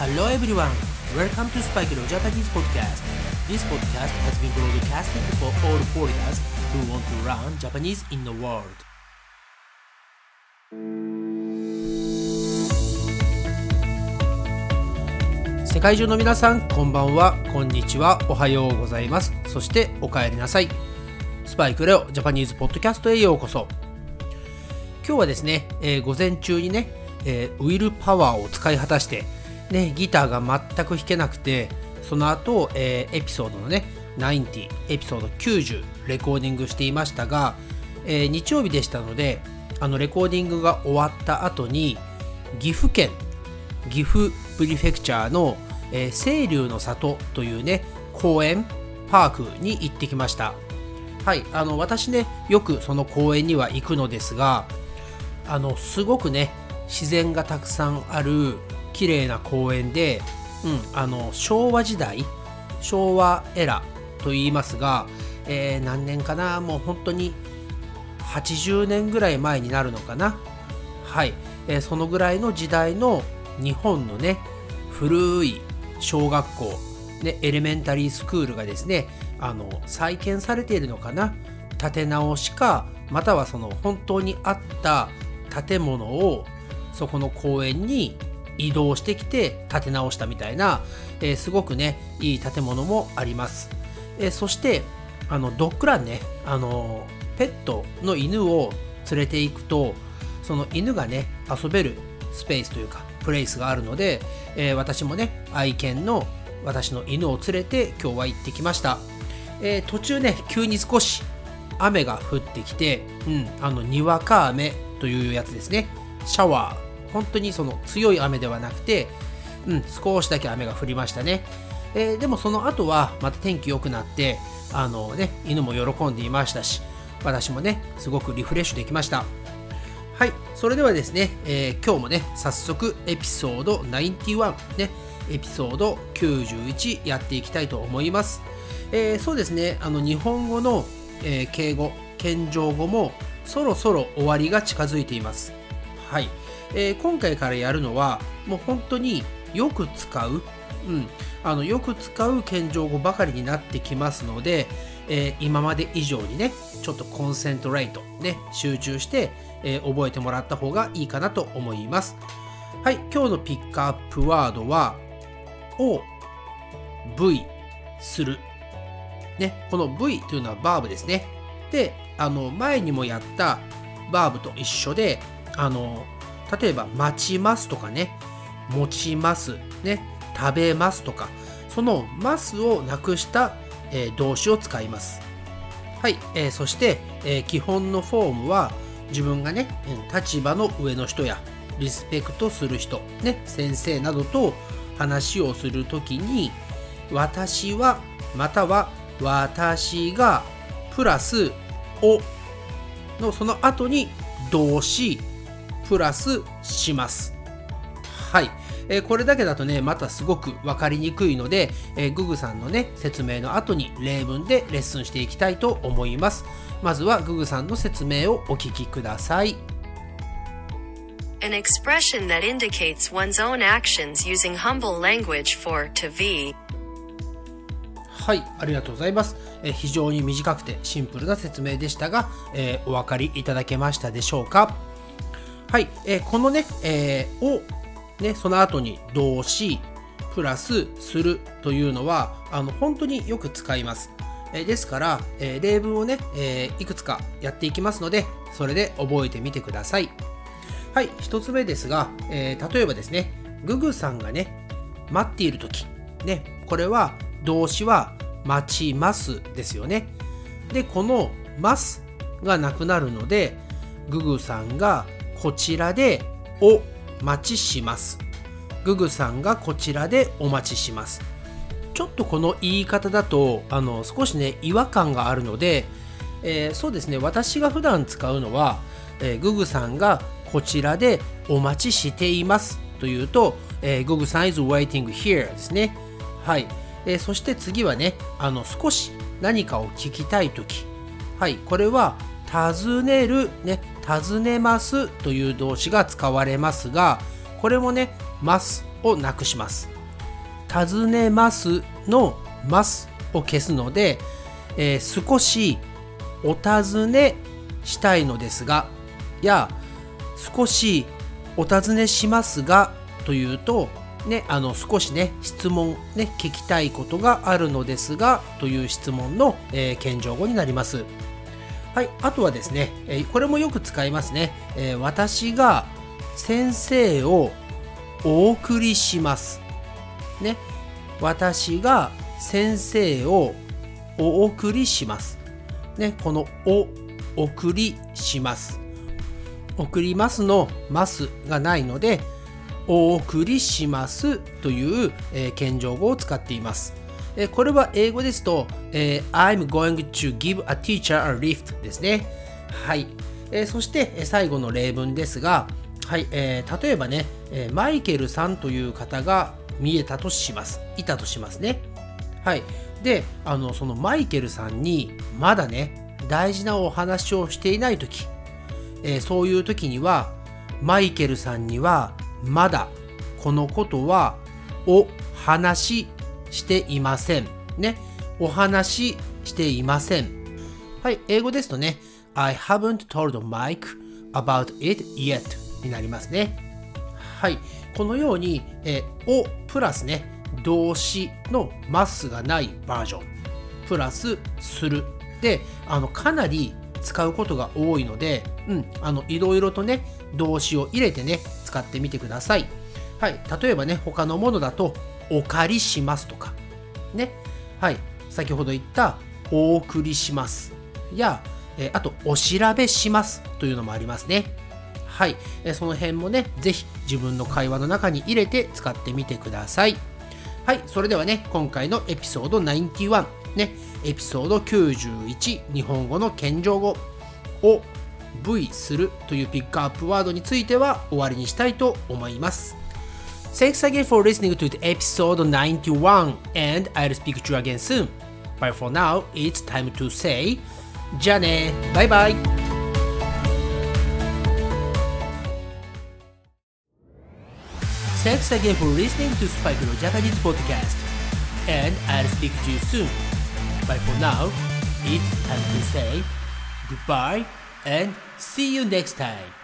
Hello everyone, welcome to Spike Leo Japanese Podcast. This podcast has been broadcasted for all foreigners who want to learn Japanese in the world. 世界中の皆さん、こんばんは、こんにちは、おはようございます。そしてお帰りなさい。スパイクレオジャパニーズポッドキャストへようこそ。今日はですね、午前中にね、ウィルパワーを使い果たしてね、ギターが全く弾けなくて、その後、エピソードのね90、エピソード90レコーディングしていましたが、日曜日でしたので、レコーディングが終わった後に岐阜県岐阜プリフェクチャーの、清流の里というね公園パークに行ってきました。はい、私ねよくその公園には行くのですが、すごくね自然がたくさんある綺麗な公園で、昭和時代、昭和エラと言いますが、何年かな、もう本当に80年ぐらい前になるのかな。はい、そのぐらいの時代の日本のね古い小学校、ね、エレメンタリースクールがですね再建されているのかな、建て直しか、またはその本当にあった建物をそこの公園に移動してきて建て直したみたいな、すごくねいい建物もあります。そしてドッグランね、ペットの犬を連れて行くと、その犬がね遊べるスペースというかプレイスがあるので、私もね愛犬の私の犬を連れて今日は行ってきました。途中ね急に少し雨が降ってきて、にわか雨というやつですね。シャワー、本当にその強い雨ではなくて、少しだけ雨が降りましたね。でもその後はまた天気良くなって、犬も喜んでいましたし、私もねすごくリフレッシュできました。はい、それではですね、今日もね早速エピソード91ね、エピソード91やっていきたいと思います。そうですね、日本語の、敬語、謙譲語もそろそろ終わりが近づいています。はい、今回からやるのはもう本当によく使う、よく使う謙譲語ばかりになってきますので、今まで以上にねちょっとコンセントレートね集中して、覚えてもらった方がいいかなと思います。はい、今日のピックアップワードはを V するね、この V というのはバーブですね。で、前にもやったバーブと一緒で、例えば待ちますとかね、持ちますね、食べますとか、そのますをなくした、動詞を使います。はい、そして、基本のフォームは自分がね立場の上の人やリスペクトする人、ね、先生などと話をするときに、私はまたは私がプラスをのその後に動詞プラスします。はい、これだけだとねまたすごく分かりにくいので、ググさんのね説明の後に例文でレッスンしていきたいと思います。まずはググさんの説明をお聞きください。 An expression that indicates one's own actions using humble language for to be。 はい、ありがとうございます。非常に短くてシンプルな説明でしたが、お分かりいただけましたでしょうか。はい、このね、をねその後に動詞プラスするというのは本当によく使います。ですから、例文をね、いくつかやっていきますので、それで覚えてみてください。はい、一つ目ですが、例えばですね、ググさんがね待っているときね、これは動詞は待ちますですよね。で、このますがなくなるので、ググさんがこちらでお待ちします。ググさんがこちらでお待ちします。ちょっとこの言い方だと少しね違和感があるので、そうですね、私が普段使うのは、ググさんがこちらでお待ちしていますというと、ググさん is waiting here ですね。はい、そして次はね少し何かを聞きたいとき、はい、これは尋ねるね、尋ねますという動詞が使われますが、これもねますをなくします。尋ねますのますを消すので、少しお尋ねしたいのですがや少しお尋ねしますがというとね、少しね質問ね聞きたいことがあるのですがという質問の、謙譲語になります。はい、あとはですね、これもよく使いますね。私が先生をお送りしますね。私が先生をお送りしますね。このお送りします送りますのますがないのでお送りしますという、謙譲語を使っています。これは英語ですと、I'm going to give a teacher a lift ですね。はい。そして最後の例文ですが、はい、例えばね、マイケルさんという方がいたとしますね。はい。で、そのマイケルさんにまだね、大事なお話をしていないとき、そういうときには、マイケルさんにはまだこのことはお話ししていません。ね。お話ししていません。はい。英語ですとね、I haven't told Mike about it yet になりますね。はい。このように、おプラスね、動詞のますがないバージョン。プラスする。で、かなり使うことが多いので、いろいろとね、動詞を入れてね、使ってみてください。はい。例えばね、他のものだと、お借りしますとか、ね。はい。先ほど言った、お送りします。や、あと、お調べしますというのもありますね。はい。その辺もね、ぜひ自分の会話の中に入れて使ってみてください。はい。それではね、今回のエピソード91、ね、エピソード91、日本語の謙譲語を V するというピックアップワードについては終わりにしたいと思います。Thanks again for listening to the episode 91 and I'll speak to you again soon. But for now, it's time to say じゃあね、バイバイ。Thanks again for listening to Spike no Japanese podcast and I'll speak to you soon. But for now, it's time to say goodbye and see you next time.